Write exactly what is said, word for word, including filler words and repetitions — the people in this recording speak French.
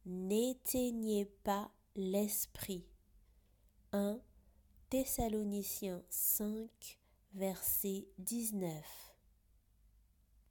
n'éteignez pas l'esprit. un Thessaloniciens cinq, verset dix-neuf.